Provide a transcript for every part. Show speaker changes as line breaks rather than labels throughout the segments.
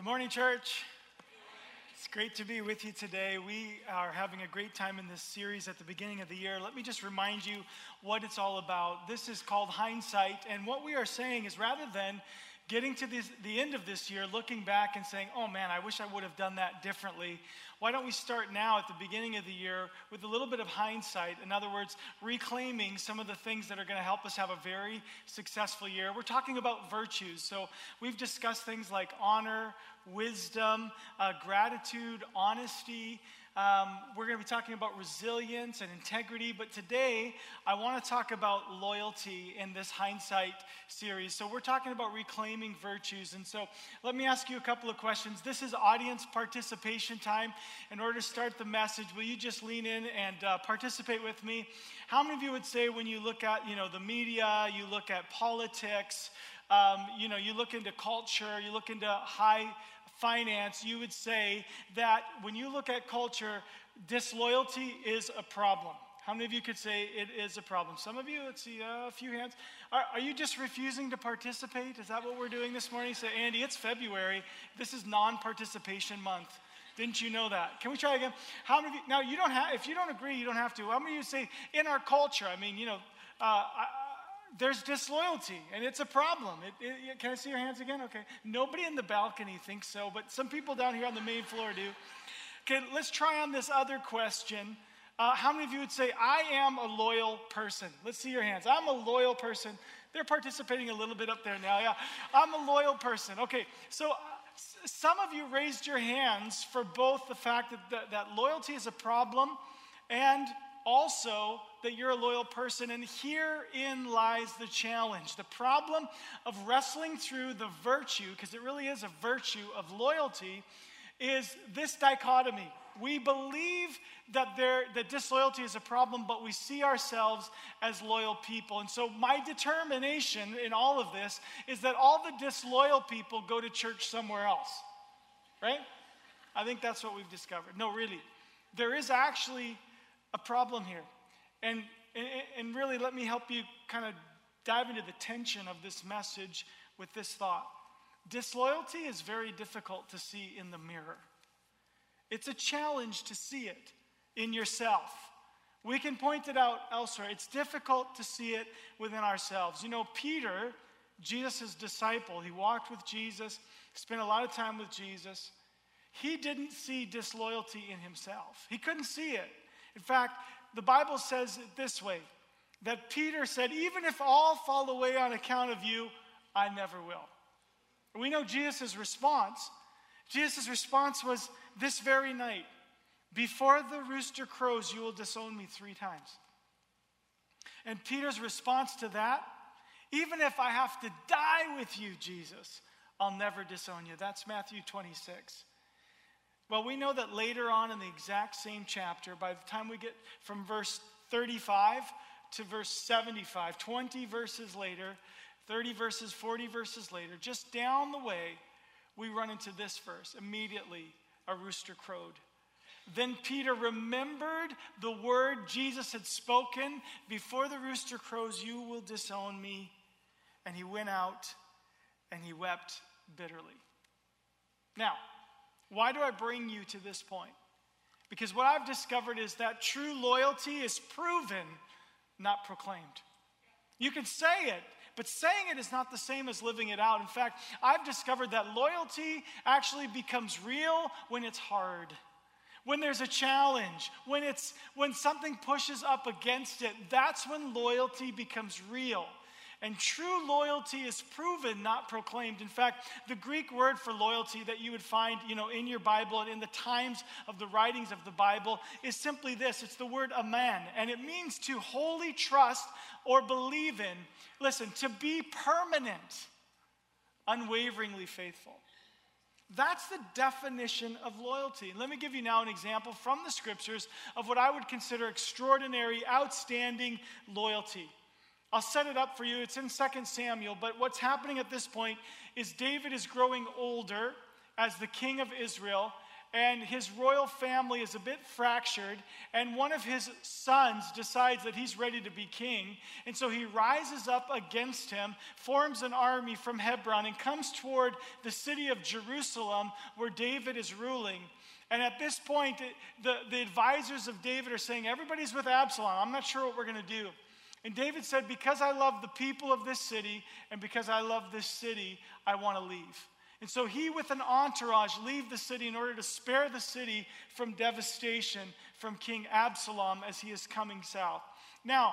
Good morning, church. It's great to be with you today. We are having a great time in this series at the beginning of the year. Let me just remind you what it's all about. This is called Hindsight, and what we are saying is rather than getting to the end of this year, looking back and saying, oh man, I wish I would have done that differently, why don't we start now at the beginning of the year with a little bit of hindsight? In other words, reclaiming some of the things that are going to help us have a very successful year. We're talking about virtues. So we've discussed things like honor, wisdom, gratitude, honesty. We're going to be talking about resilience and integrity, but today I want to talk about loyalty in this hindsight series. So we're talking about reclaiming virtues, and so let me ask you a couple of questions. This is audience participation time. In order to start the message, will you just lean in and participate with me? How many of you would say when you look at, the media, you look at politics, you look into culture, you look into high finance, you would say that when you look at culture, disloyalty is a problem? How many of you could say it is a problem? Some of you, let's see, a few hands. Are you just refusing to participate? Is that what we're doing this morning? Say, Andy, it's February. This is non-participation month. Didn't you know that? Can we try again? How many of you, now you don't have, if you don't agree, you don't have to. How many of you say, in our culture, there's disloyalty, and it's a problem. Can I see your hands again? Okay. Nobody in the balcony thinks so, but some people down here on the main floor do. Okay, let's try on this other question. How many of you would say, I am a loyal person? Let's see your hands. I'm a loyal person. They're participating a little bit up there now. Yeah, I'm a loyal person. Okay, so some of you raised your hands for both the fact that loyalty is a problem and also that you're a loyal person, and herein lies the challenge. The problem of wrestling through the virtue, because it really is a virtue of loyalty, is this dichotomy. We believe that disloyalty is a problem, but we see ourselves as loyal people. And so my determination in all of this is that all the disloyal people go to church somewhere else, right? I think that's what we've discovered. No, really, there is actually a problem here. And really, let me help you kind of dive into the tension of this message with this thought. Disloyalty is very difficult to see in the mirror. It's a challenge to see it in yourself. We can point it out elsewhere. It's difficult to see it within ourselves. Peter, Jesus' disciple, he walked with Jesus, spent a lot of time with Jesus. He didn't see disloyalty in himself. He couldn't see it. In fact, the Bible says it this way, that Peter said, even if all fall away on account of you, I never will. We know Jesus' response. Jesus' response was this very night, before the rooster crows, you will disown me 3 times. And Peter's response to that, even if I have to die with you, Jesus, I'll never disown you. That's Matthew 26. Well, we know that later on in the exact same chapter, by the time we get from verse 35 to verse 75, 20 verses later, 30 verses, 40 verses later, just down the way, we run into this verse. Immediately, a rooster crowed. Then Peter remembered the word Jesus had spoken, before the rooster crows, you will disown me. And he went out and he wept bitterly. Now, why do I bring you to this point? Because what I've discovered is that true loyalty is proven, not proclaimed. You can say it, but saying it is not the same as living it out. In fact, I've discovered that loyalty actually becomes real when it's hard, when there's a challenge, when something pushes up against it. That's when loyalty becomes real. And true loyalty is proven, not proclaimed. In fact, the Greek word for loyalty that you would find, in your Bible and in the times of the writings of the Bible is simply this. It's the word amen, and it means to wholly trust or believe in. Listen, to be permanent, unwaveringly faithful. That's the definition of loyalty. And let me give you now an example from the scriptures of what I would consider extraordinary, outstanding loyalty. I'll set it up for you. It's in 2 Samuel, but what's happening at this point is David is growing older as the king of Israel, and his royal family is a bit fractured, and one of his sons decides that he's ready to be king, and so he rises up against him, forms an army from Hebron, and comes toward the city of Jerusalem where David is ruling. And at this point, the advisors of David are saying, everybody's with Absalom. I'm not sure what we're going to do. And David said, because I love the people of this city, and because I love this city, I want to leave. And so he, with an entourage, leave the city in order to spare the city from devastation from King Absalom as he is coming south. Now,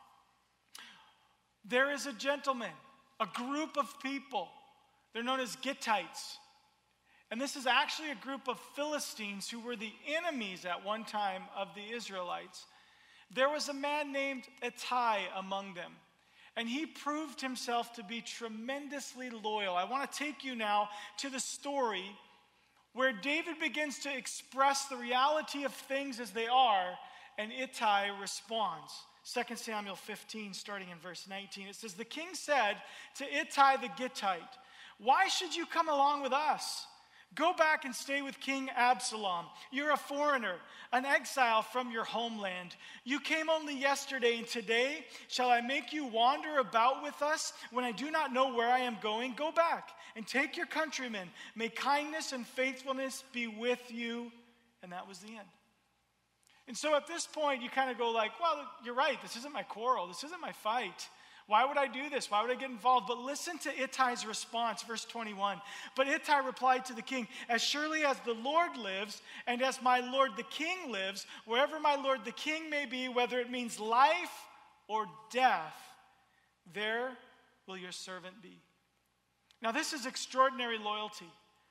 there is a gentleman, a group of people. They're known as Gittites. And this is actually a group of Philistines who were the enemies at one time of the Israelites. There was a man named Ittai among them, and he proved himself to be tremendously loyal. I want to take you now to the story where David begins to express the reality of things as they are, and Ittai responds. 2 Samuel 15, starting in verse 19, it says, "The king said to Ittai the Gittite, 'Why should you come along with us? Go back and stay with King Absalom. You're a foreigner, an exile from your homeland. You came only yesterday, and today shall I make you wander about with us when I do not know where I am going? Go back and take your countrymen. May kindness and faithfulness be with you.'" And that was the end. And so at this point, you kind of go like, well, you're right. This isn't my quarrel. This isn't my fight. Why would I do this? Why would I get involved? But listen to Ittai's response, verse 21. "But Ittai replied to the king, 'As surely as the Lord lives, and as my lord the king lives, wherever my lord the king may be, whether it means life or death, there will your servant be.'" Now this is extraordinary loyalty.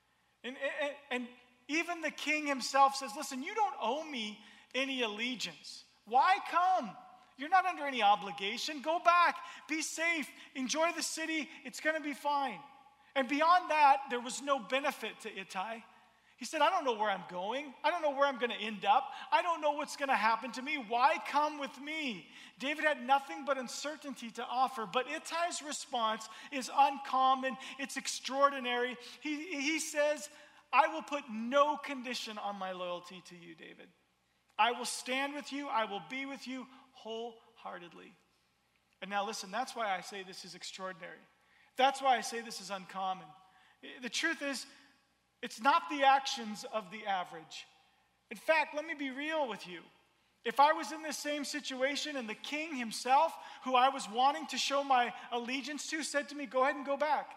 And even the king himself says, "Listen, you don't owe me any allegiance. Why come? You're not under any obligation. Go back, be safe, enjoy the city, it's going to be fine." And beyond that, there was no benefit to Ittai. He said, "I don't know where I'm going. I don't know where I'm going to end up. I don't know what's going to happen to me. Why come with me?" David had nothing but uncertainty to offer, but Ittai's response is uncommon. It's extraordinary. He says, "I will put no condition on my loyalty to you, David. I will stand with you. I will be with you wholeheartedly." And now listen, that's why I say this is extraordinary. That's why I say this is uncommon. The truth is, it's not the actions of the average. In fact, let me be real with you. If I was in this same situation and the king himself, who I was wanting to show my allegiance to, said to me, "Go ahead and go back,"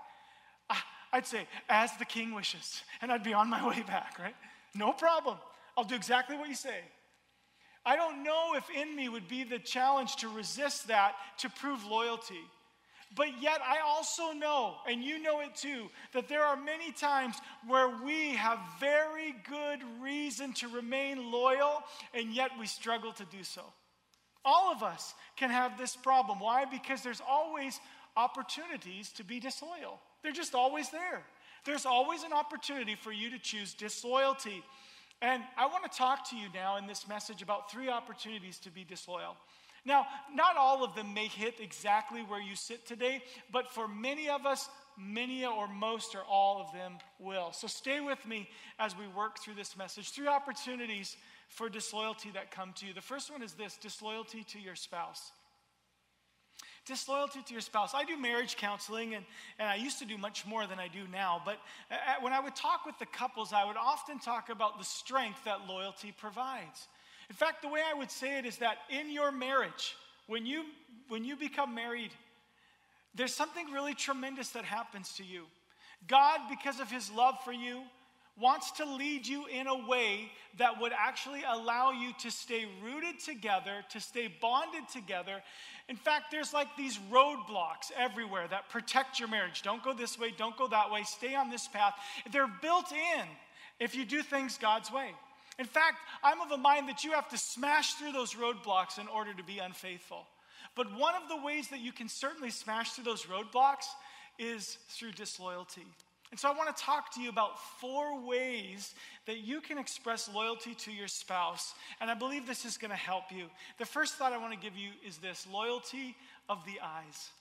I'd say, "As the king wishes," and I'd be on my way back, right? No problem. I'll do exactly what you say. I don't know if in me would be the challenge to resist that, to prove loyalty. But yet I also know, and you know it too, that there are many times where we have very good reason to remain loyal, and yet we struggle to do so. All of us can have this problem. Why? Because there's always opportunities to be disloyal. They're just always there. There's always an opportunity for you to choose disloyalty. And I want to talk to you now in this message about 3 opportunities to be disloyal. Now, not all of them may hit exactly where you sit today, but for many of us, many or most or all of them will. So stay with me as we work through this message. 3 opportunities for disloyalty that come to you. The first one is this: disloyalty to your spouse. Disloyalty to your spouse. I do marriage counseling, and I used to do much more than I do now. But when I would talk with the couples, I would often talk about the strength that loyalty provides. In fact, the way I would say it is that in your marriage, when you become married, there's something really tremendous that happens to you. God, because of his love for you, wants to lead you in a way that would actually allow you to stay rooted together, to stay bonded together. In fact, there's like these roadblocks everywhere that protect your marriage. Don't go this way, don't go that way, stay on this path. They're built in if you do things God's way. In fact, I'm of a mind that you have to smash through those roadblocks in order to be unfaithful. But one of the ways that you can certainly smash through those roadblocks is through disloyalty. And so I want to talk to you about 4 ways that you can express loyalty to your spouse. And I believe this is going to help you. The first thought I want to give you is this: loyalty of the eyes.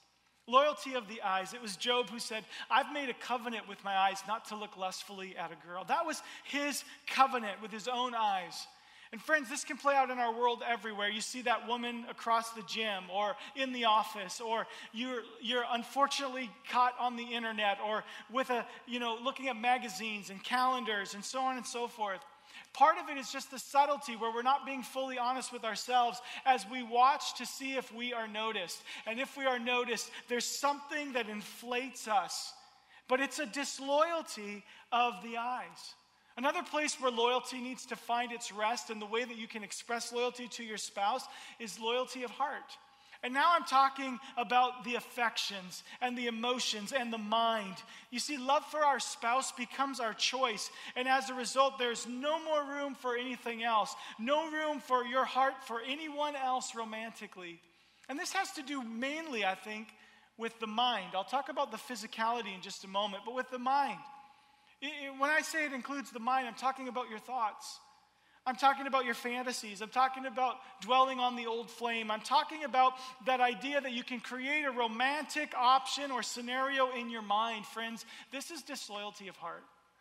Loyalty of the eyes. It was Job who said, I've made a covenant with my eyes not to look lustfully at a girl. That was his covenant with his own eyes. And friends, this can play out in our world everywhere. You see that woman across the gym or in the office, or you're unfortunately caught on the internet, or with looking at magazines and calendars and so on and so forth. Part of it is just the subtlety where we're not being fully honest with ourselves as we watch to see if we are noticed. And if we are noticed, there's something that inflates us. But it's a disloyalty of the eyes. Another place where loyalty needs to find its rest, and the way that you can express loyalty to your spouse, is loyalty of heart. And now I'm talking about the affections and the emotions and the mind. You see, love for our spouse becomes our choice. And as a result, there's no more room for anything else. No room for your heart for anyone else romantically. And this has to do mainly, I think, with the mind. I'll talk about the physicality in just a moment, but with the mind. When I say it includes the mind, I'm talking about your thoughts. I'm talking about your fantasies. I'm talking about dwelling on the old flame. I'm talking about that idea that you can create a romantic option or scenario in your mind. Friends, this is disloyalty of heart.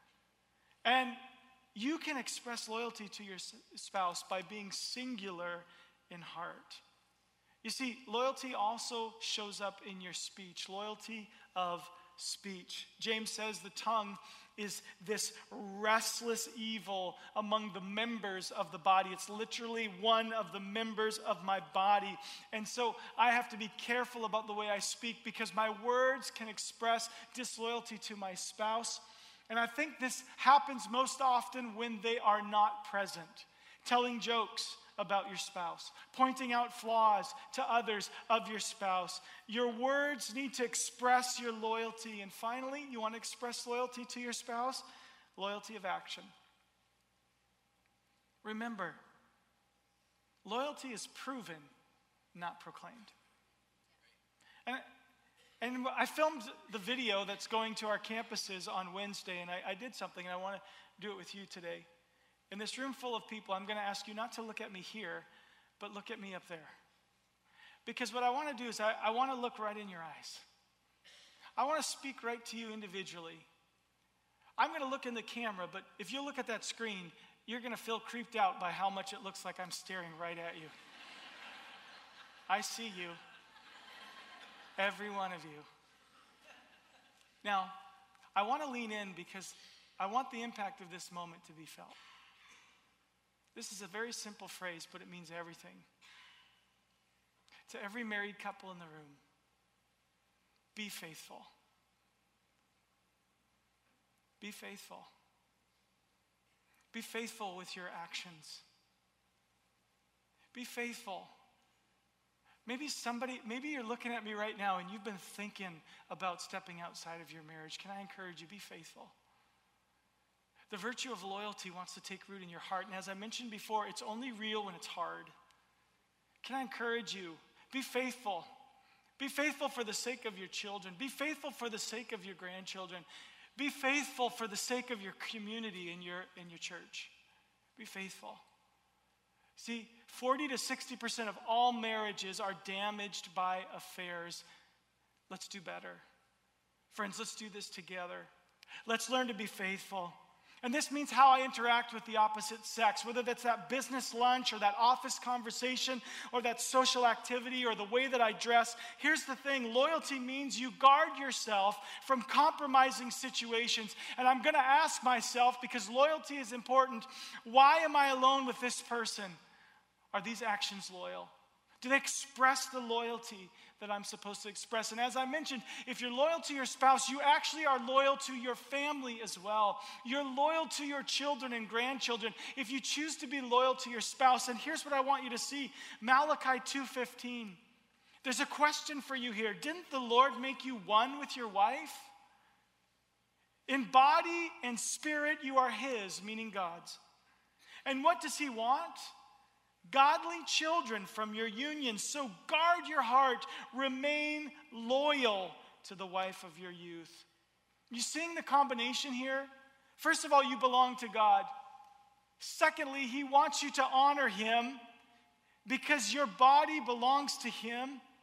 And you can express loyalty to your spouse by being singular in heart. You see, loyalty also shows up in your speech. Loyalty of speech. James says the tongue is this restless evil among the members of the body. It's literally one of the members of my body. And so I have to be careful about the way I speak, because my words can express disloyalty to my spouse. And I think this happens most often when they are not present. Telling jokes about your spouse, pointing out flaws to others of your spouse. Your words need to express your loyalty. And finally, you want to express loyalty to your spouse? Loyalty of action. Remember, loyalty is proven, not proclaimed. And I filmed the video that's going to our campuses on Wednesday, and I did something, and I want to do it with you today. In this room full of people, I'm going to ask you not to look at me here, but look at me up there. Because what I want to do is I want to look right in your eyes. I want to speak right to you individually. I'm going to look in the camera, but if you look at that screen, you're going to feel creeped out by how much it looks like I'm staring right at you. I see you. Every one of you. Now, I want to lean in because I want the impact of this moment to be felt. This is a very simple phrase, but it means everything. To every married couple in the room, be faithful. Be faithful. Be faithful with your actions. Be faithful. Maybe you're looking at me right now and you've been thinking about stepping outside of your marriage. Can I encourage you, be faithful? The virtue of loyalty wants to take root in your heart. And as I mentioned before, it's only real when it's hard. Can I encourage you? Be faithful. Be faithful for the sake of your children. Be faithful for the sake of your grandchildren. Be faithful for the sake of your community and your church. Be faithful. See, 40 to 60% of all marriages are damaged by affairs. Let's do better. Friends, let's do this together. Let's learn to be faithful. And this means how I interact with the opposite sex, whether that's that business lunch or that office conversation or that social activity or the way that I dress. Here's the thing, loyalty means you guard yourself from compromising situations. And I'm going to ask myself, because loyalty is important, why am I alone with this person? Are these actions loyal? Do they express the loyalty that I'm supposed to express? And as I mentioned, if you're loyal to your spouse, you actually are loyal to your family as well. You're loyal to your children and grandchildren if you choose to be loyal to your spouse. And here's what I want you to see. Malachi 2:15. There's a question for you here. Didn't the Lord make you one with your wife? In body and spirit, you are His, meaning God's. And what does He want? Godly children from your union. So guard your heart. Remain loyal to the wife of your youth. You seeing the combination here? First of all, you belong to God. Secondly, He wants you to honor Him because your body belongs to Him.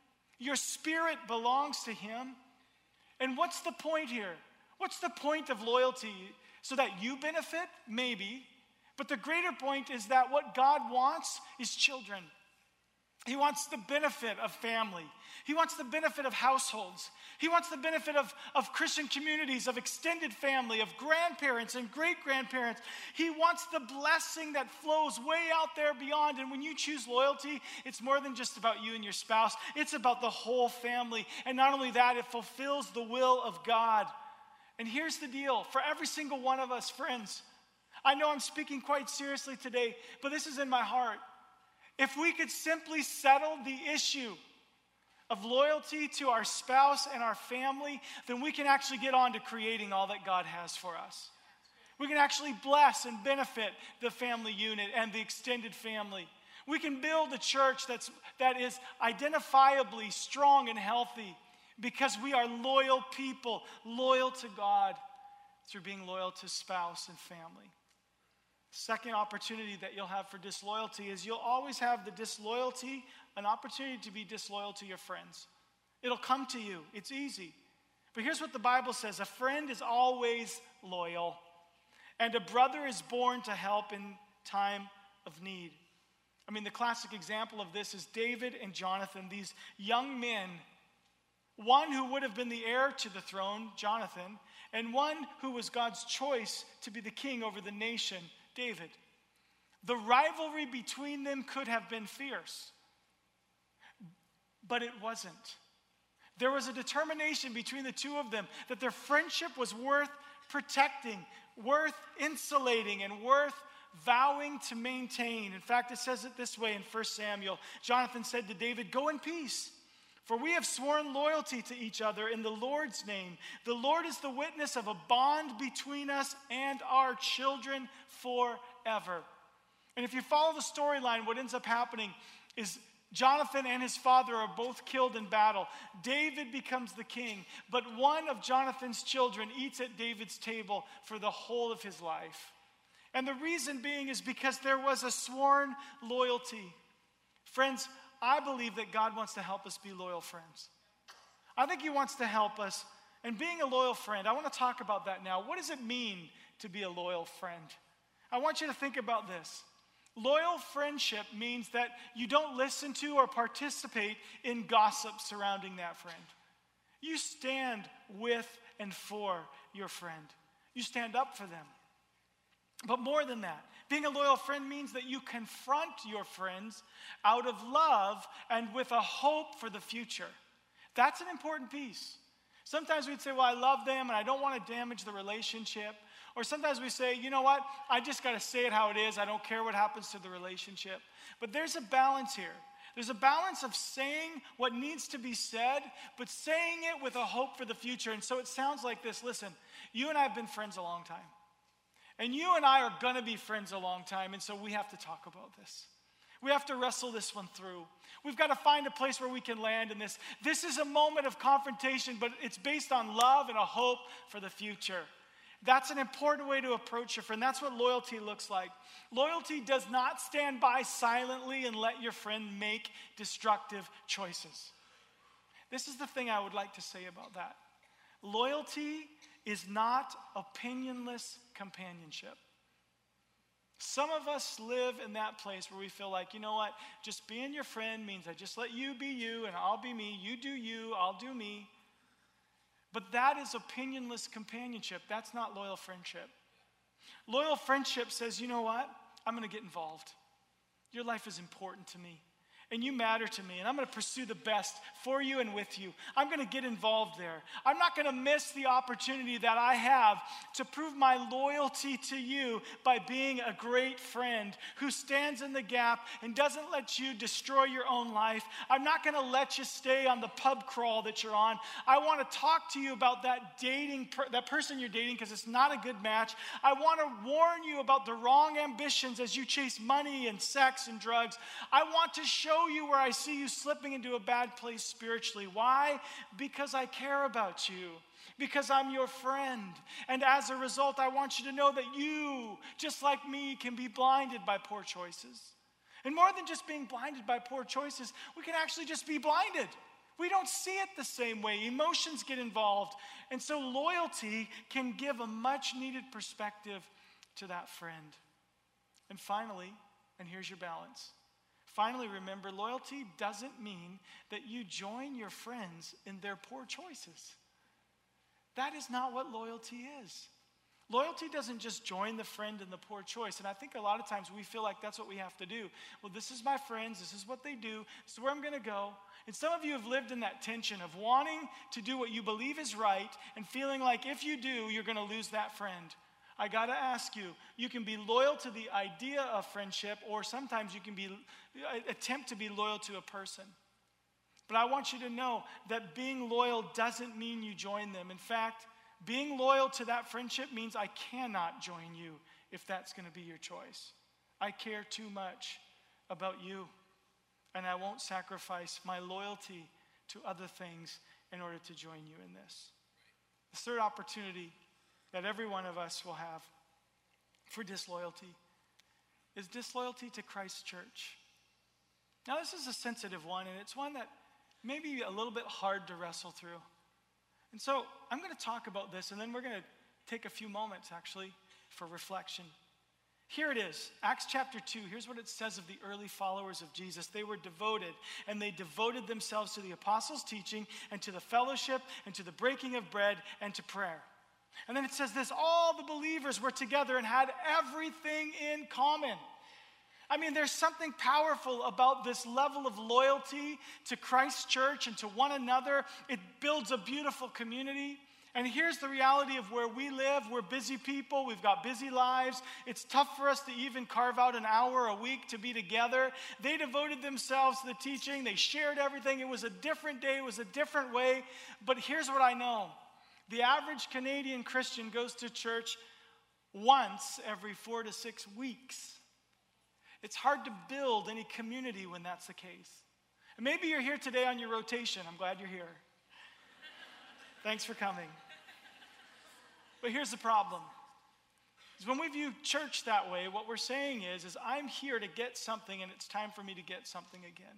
Your spirit belongs to him. And what's the point here? What's the point of loyalty? So that you benefit? Maybe. But the greater point is that what God wants is children. He wants the benefit of family. He wants the benefit of households. He wants the benefit of Christian communities, of extended family, of grandparents and great-grandparents. He wants the blessing that flows way out there beyond. And when you choose loyalty, it's more than just about you and your spouse. It's about the whole family. And not only that, it fulfills the will of God. And here's the deal. For every single one of us, friends, I know I'm speaking quite seriously today, but this is in my heart. If we could simply settle the issue of loyalty to our spouse and our family, then we can actually get on to creating all that God has for us. We can actually bless and benefit the family unit and the extended family. We can build a church that is identifiably strong and healthy because we are loyal people, loyal to God through being loyal to spouse and family. Second opportunity that you'll have for disloyalty is you'll always have the disloyalty, an opportunity to be disloyal to your friends. It'll come to you. It's easy. But here's what the Bible says. A friend is always loyal, and a brother is born to help in time of need. I mean, the classic example of this is David and Jonathan, these young men, one who would have been the heir to the throne, Jonathan, and one who was God's choice to be the king over the nation, David. The rivalry between them could have been fierce, but it wasn't. There was a determination between the two of them that their friendship was worth protecting, worth insulating, and worth vowing to maintain. In fact, it says it this way in 1 Samuel. Jonathan said to David, "Go in peace, for we have sworn loyalty to each other in the Lord's name. The Lord is the witness of a bond between us and our children forever." And if you follow the storyline, what ends up happening is Jonathan and his father are both killed in battle. David becomes the king, but one of Jonathan's children eats at David's table for the whole of his life. And the reason being is because there was a sworn loyalty. Friends, I believe that God wants to help us be loyal friends. I think he wants to help us. And being a loyal friend, I want to talk about that now. What does it mean to be a loyal friend? I want you to think about this. Loyal friendship means that you don't listen to or participate in gossip surrounding that friend. You stand with and for your friend. You stand up for them. But more than that, being a loyal friend means that you confront your friends out of love and with a hope for the future. That's an important piece. Sometimes we'd say, well, I love them and I don't want to damage the relationship. Or sometimes we say, you know what, I just got to say it how it is. I don't care what happens to the relationship. But there's a balance here. There's a balance of saying what needs to be said, but saying it with a hope for the future. And so it sounds like this. Listen, you and I have been friends a long time. And you and I are going to be friends a long time. And so we have to talk about this. We have to wrestle this one through. We've got to find a place where we can land in this. This is a moment of confrontation, but it's based on love and a hope for the future. That's an important way to approach your friend. That's what loyalty looks like. Loyalty does not stand by silently and let your friend make destructive choices. This is the thing I would like to say about that. Loyalty is not opinionless companionship. Some of us live in that place where we feel like, you know what, just being your friend means I just let you be you and I'll be me. You do you, I'll do me. But that is opinionless companionship. That's not loyal friendship. Loyal friendship says, you know what, I'm going to get involved. Your life is important to me. And you matter to me, and I'm going to pursue the best for you and with you. I'm going to get involved there. I'm not going to miss the opportunity that I have to prove my loyalty to you by being a great friend who stands in the gap and doesn't let you destroy your own life. I'm not going to let you stay on the pub crawl that you're on. I want to talk to you about that person you're dating because it's not a good match. I want to warn you about the wrong ambitions as you chase money and sex and drugs. I want to show you where I see you slipping into a bad place spiritually. Why? Because I care about you. Because I'm your friend. And as a result, I want you to know that you, just like me, can be blinded by poor choices. And more than just being blinded by poor choices, we can actually just be blinded. We don't see it the same way. Emotions get involved. And so loyalty can give a much needed perspective to that friend. And finally, and here's your balance. Finally, remember, loyalty doesn't mean that you join your friends in their poor choices. That is not what loyalty is. Loyalty doesn't just join the friend in the poor choice. And I think a lot of times we feel like that's what we have to do. Well, this is my friends. This is what they do. This is where I'm going to go. And some of you have lived in that tension of wanting to do what you believe is right and feeling like if you do, you're going to lose that friend. I got to ask you, you can be loyal to the idea of friendship, or sometimes you can attempt to be loyal to a person. But I want you to know that being loyal doesn't mean you join them. In fact, being loyal to that friendship means I cannot join you if that's going to be your choice. I care too much about you, and I won't sacrifice my loyalty to other things in order to join you in this. The third opportunity that every one of us will have for disloyalty is disloyalty to Christ's church. Now, this is a sensitive one, and it's one that may be a little bit hard to wrestle through. And so I'm going to talk about this, and then we're going to take a few moments, actually, for reflection. Here it is, Acts chapter 2. Here's what it says of the early followers of Jesus. They were devoted, and they devoted themselves to the apostles' teaching and to the fellowship and to the breaking of bread and to prayer. And then it says this, all the believers were together and had everything in common. I mean, there's something powerful about this level of loyalty to Christ's church and to one another. It builds a beautiful community. And here's the reality of where we live. We're busy people. We've got busy lives. It's tough for us to even carve out an hour a week to be together. They devoted themselves to the teaching. They shared everything. It was a different day. It was a different way. But here's what I know. The average Canadian Christian goes to church once every 4 to 6 weeks. It's hard to build any community when that's the case. And maybe you're here today on your rotation. I'm glad you're here. Thanks for coming. But here's the problem. Is when we view church that way, what we're saying is I'm here to get something and it's time for me to get something again.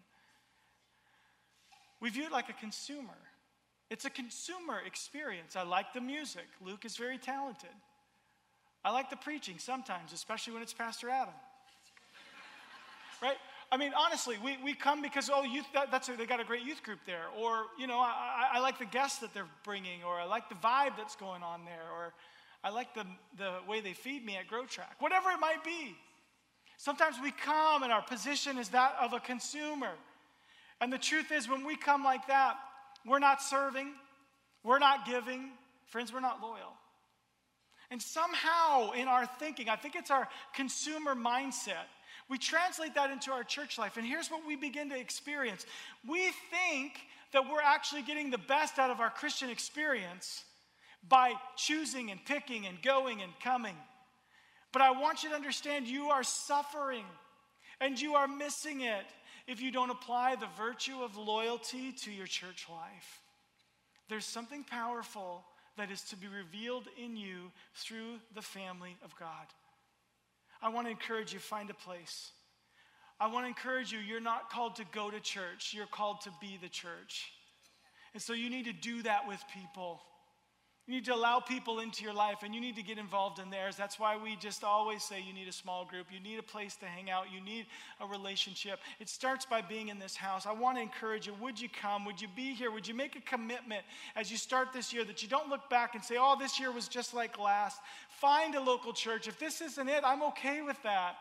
We view it like a consumer. It's a consumer experience. I like the music. Luke is very talented. I like the preaching sometimes, especially when it's Pastor Adam. Right? I mean, honestly, we come because, youth, they got a great youth group there. Or, I like the guests that they're bringing. Or I like the vibe that's going on there. Or I like the way they feed me at Grow Track. Whatever it might be. Sometimes we come and our position is that of a consumer. And the truth is, when we come like that, we're not serving. We're not giving. Friends, we're not loyal. And somehow in our thinking, I think it's our consumer mindset, we translate that into our church life, and here's what we begin to experience. We think that we're actually getting the best out of our Christian experience by choosing and picking and going and coming. But I want you to understand you are suffering, and you are missing it if you don't apply the virtue of loyalty to your church life. There's something powerful that is to be revealed in you through the family of God. I want to encourage you, find a place. I want to encourage you, you're not called to go to church. You're called to be the church. And so you need to do that with people. You need to allow people into your life, and you need to get involved in theirs. That's why we just always say you need a small group. You need a place to hang out. You need a relationship. It starts by being in this house. I want to encourage you. Would you come? Would you be here? Would you make a commitment as you start this year that you don't look back and say, this year was just like last. Find a local church. If this isn't it, I'm okay with that.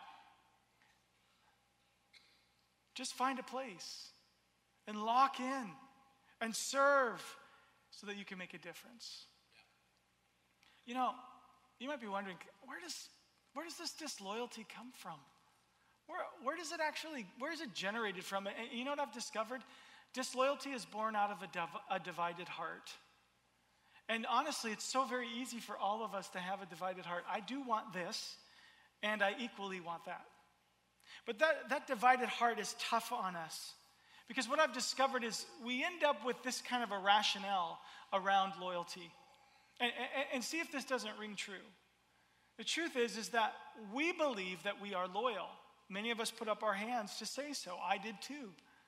Just find a place and lock in and serve so that you can make a difference. You might be wondering, where does this disloyalty come from? Where is it generated from? And you know what I've discovered? Disloyalty is born out of a divided heart. And honestly, it's so very easy for all of us to have a divided heart. I do want this, and I equally want that. But that divided heart is tough on us. Because what I've discovered is we end up with this kind of a rationale around loyalty. And see if this doesn't ring true. The truth is that we believe that we are loyal. Many of us put up our hands to say so. I did too.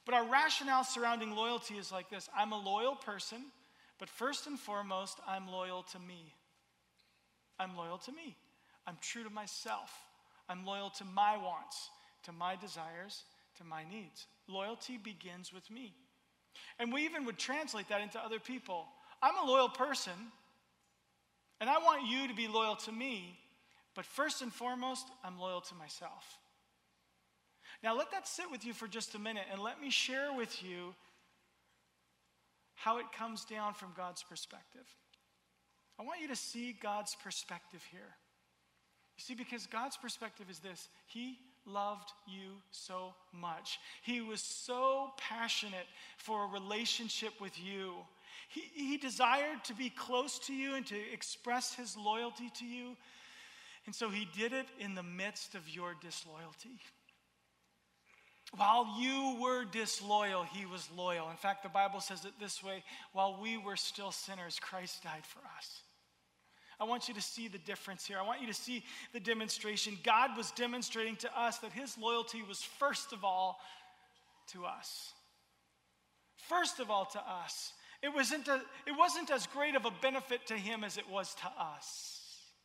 But our rationale surrounding loyalty is like this. I'm a loyal person, but first and foremost, I'm loyal to me. I'm loyal to me. I'm true to myself. I'm loyal to my wants, to my desires, to my needs. Loyalty begins with me. And we even would translate that into other people. I'm a loyal person, and I want you to be loyal to me, but first and foremost, I'm loyal to myself. Now let that sit with you for just a minute, and let me share with you how it comes down from God's perspective. I want you to see God's perspective here. You see, because God's perspective is this: He loved you so much. He was so passionate for a relationship with you. He desired to be close to you and to express his loyalty to you. And so he did it in the midst of your disloyalty. While you were disloyal, he was loyal. In fact, the Bible says it this way: while we were still sinners, Christ died for us. I want you to see the difference here. I want you to see the demonstration. God was demonstrating to us that his loyalty was first of all to us. First of all to us. It wasn't as great of a benefit to him as it was to us.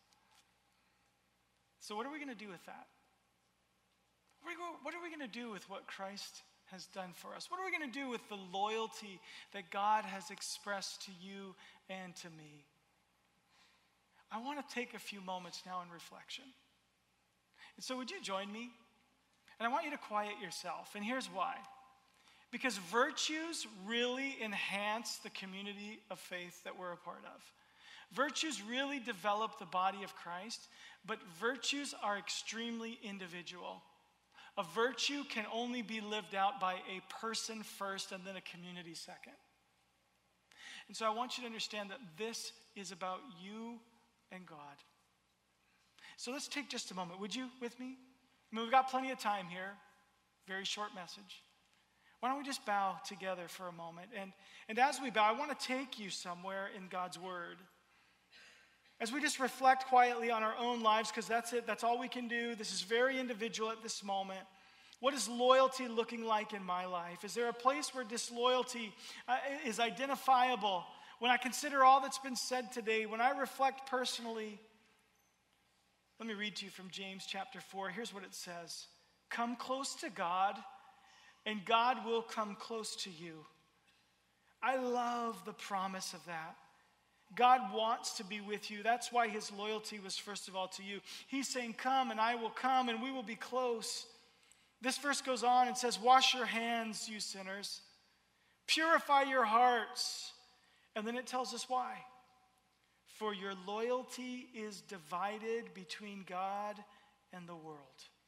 So what are we going to do with that? What are we going to do with what Christ has done for us? What are we going to do with the loyalty that God has expressed to you and to me? I want to take a few moments now in reflection. And so would you join me? And I want you to quiet yourself. And here's why. Because virtues really enhance the community of faith that we're a part of. Virtues really develop the body of Christ, but virtues are extremely individual. A virtue can only be lived out by a person first and then a community second. And so I want you to understand that this is about you and God. So let's take just a moment. Would you with me? I mean, we've got plenty of time here. Very short message. Why don't we just bow together for a moment? And as we bow, I want to take you somewhere in God's word. As we just reflect quietly on our own lives, because that's it. That's all we can do. This is very individual at this moment. What is loyalty looking like in my life? Is there a place where disloyalty is identifiable? When I consider all that's been said today, when I reflect personally, let me read to you from James chapter 4. Here's what it says. Come close to God, and God will come close to you. I love the promise of that. God wants to be with you. That's why his loyalty was first of all to you. He's saying, come, and I will come, and we will be close. This verse goes on and says, wash your hands, you sinners. Purify your hearts. And then it tells us why. For your loyalty is divided between God and the world.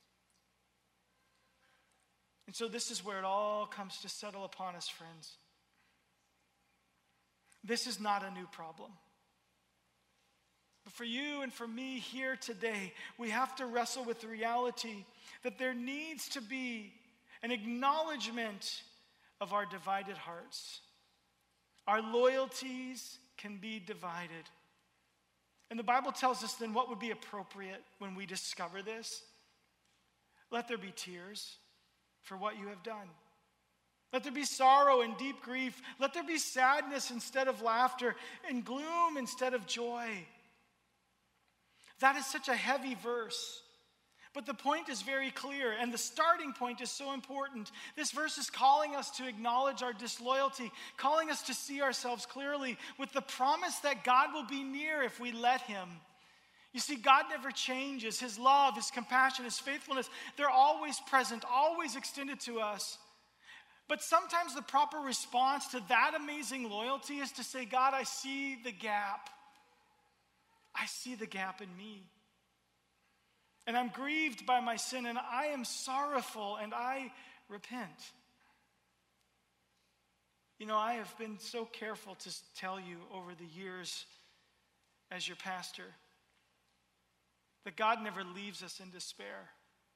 And so this is where it all comes to settle upon us, friends. This is not a new problem. But for you and for me here today, we have to wrestle with the reality that there needs to be an acknowledgement of our divided hearts. Our loyalties can be divided. And the Bible tells us then what would be appropriate when we discover this. Let there be tears for what you have done. Let there be sorrow and deep grief. Let there be sadness instead of laughter and gloom instead of joy. That is such a heavy verse. But the point is very clear, and the starting point is so important. This verse is calling us to acknowledge our disloyalty, calling us to see ourselves clearly with the promise that God will be near if we let him. You see, God never changes. His love, his compassion, his faithfulness, they're always present, always extended to us. But sometimes the proper response to that amazing loyalty is to say, God, I see the gap. I see the gap in me. And I'm grieved by my sin, and I am sorrowful, and I repent. You know, I have been so careful to tell you over the years as your pastor that God never leaves us in despair.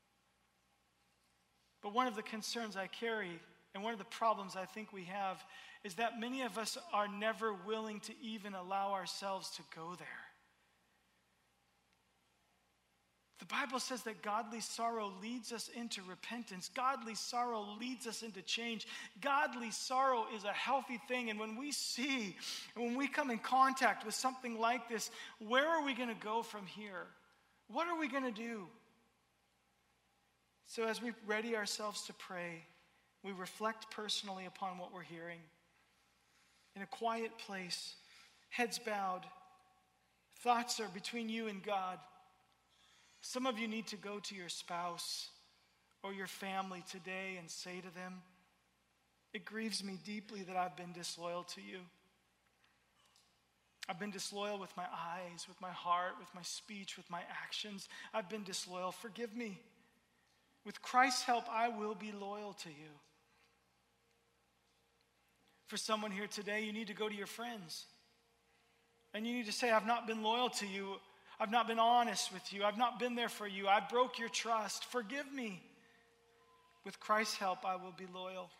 But one of the concerns I carry, and one of the problems I think we have, is that many of us are never willing to even allow ourselves to go there. The Bible says that godly sorrow leads us into repentance. Godly sorrow leads us into change. Godly sorrow is a healthy thing. And when we come in contact with something like this, where are we going to go from here? What are we going to do? So as we ready ourselves to pray, we reflect personally upon what we're hearing. In a quiet place, heads bowed, thoughts are between you and God. Some of you need to go to your spouse or your family today and say to them, "It grieves me deeply that I've been disloyal to you. I've been disloyal with my eyes, with my heart, with my speech, with my actions. I've been disloyal. Forgive me. With Christ's help, I will be loyal to you." For someone here today, you need to go to your friends. And you need to say, "I've not been loyal to you. I've not been honest with you. I've not been there for you. I broke your trust. Forgive me. With Christ's help, I will be loyal."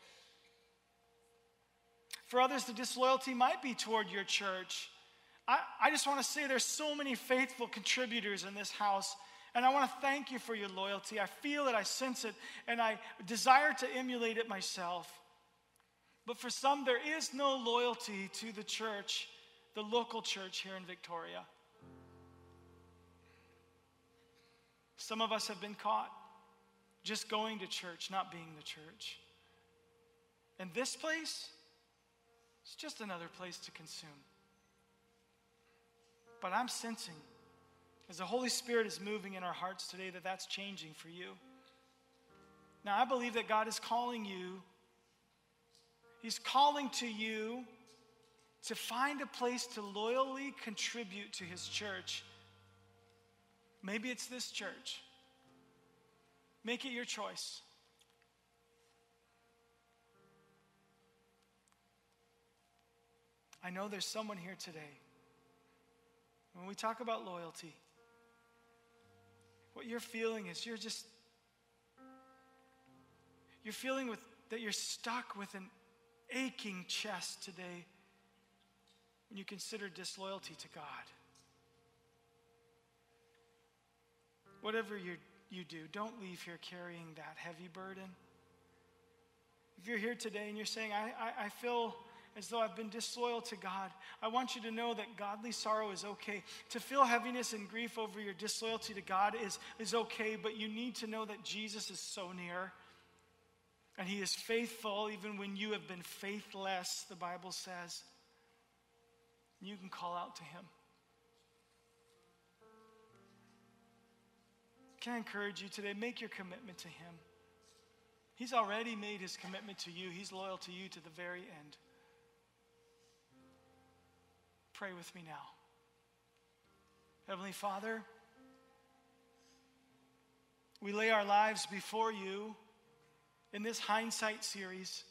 For others, the disloyalty might be toward your church. I just want to say there's so many faithful contributors in this house, and I want to thank you for your loyalty. I feel it, I sense it, and I desire to emulate it myself. But for some, there is no loyalty to the church, the local church here in Victoria. Some of us have been caught just going to church, not being the church. And this place, it's just another place to consume. But I'm sensing, as the Holy Spirit is moving in our hearts today, that that's changing for you. Now, I believe that God is calling you. He's calling to you to find a place to loyally contribute to His church. Maybe it's this church. Make it your choice. I know there's someone here today. When we talk about loyalty, what you're feeling is you're feeling that you're stuck with an aching chest today when you consider disloyalty to God. Whatever you do, don't leave here carrying that heavy burden. If you're here today and you're saying, I feel as though I've been disloyal to God, I want you to know that godly sorrow is okay. To feel heaviness and grief over your disloyalty to God is okay, but you need to know that Jesus is so near. And He is faithful even when you have been faithless, the Bible says. You can call out to Him. Can I encourage you today? Make your commitment to Him. He's already made His commitment to you. He's loyal to you to the very end. Pray with me now. Heavenly Father, we lay our lives before you in this hindsight series.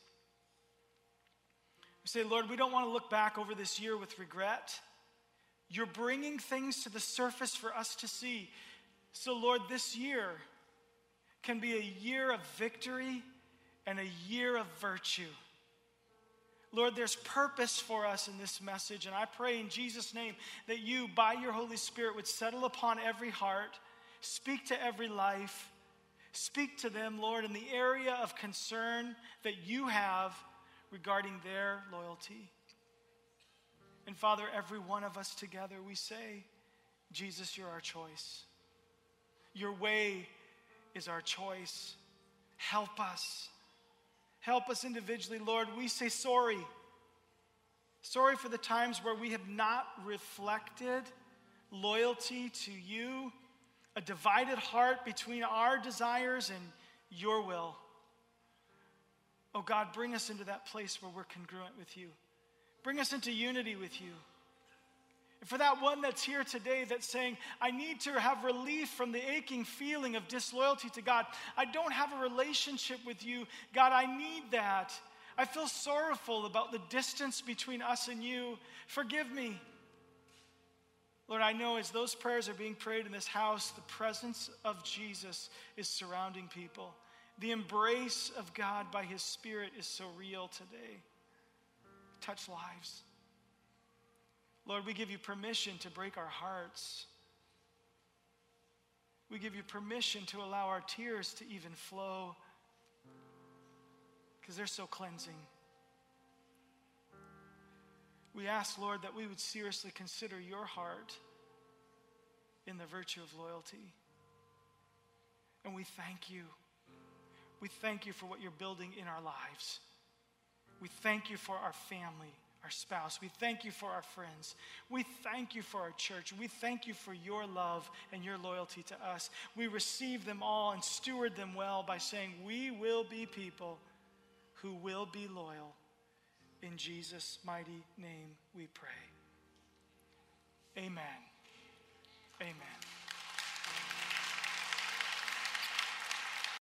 We say, Lord, we don't want to look back over this year with regret. You're bringing things to the surface for us to see. So, Lord, this year can be a year of victory and a year of virtue. Lord, there's purpose for us in this message, and I pray in Jesus' name that you, by your Holy Spirit, would settle upon every heart, speak to every life, speak to them, Lord, in the area of concern that you have regarding their loyalty. And Father, every one of us together, we say, Jesus, you're our choice. Your way is our choice. Help us. Help us individually, Lord. We say sorry. Sorry for the times where we have not reflected loyalty to you, a divided heart between our desires and your will. Oh God, bring us into that place where we're congruent with you. Bring us into unity with you. And for that one that's here today that's saying, I need to have relief from the aching feeling of disloyalty to God. I don't have a relationship with you. God, I need that. I feel sorrowful about the distance between us and you. Forgive me. Lord, I know as those prayers are being prayed in this house, the presence of Jesus is surrounding people. The embrace of God by His Spirit is so real today. Touch lives. Lord, we give you permission to break our hearts. We We give you permission to allow our tears to even flow because they're so cleansing. We ask, Lord, that we would seriously consider your heart in the virtue of loyalty. And we thank you. We thank you for what you're building in our lives. We thank you for our family, our spouse. We thank you for our friends. We thank you for our church. We thank you for your love and your loyalty to us. We receive them all and steward them well by saying we will be people who will be loyal. In Jesus' mighty name we pray. Amen. Amen.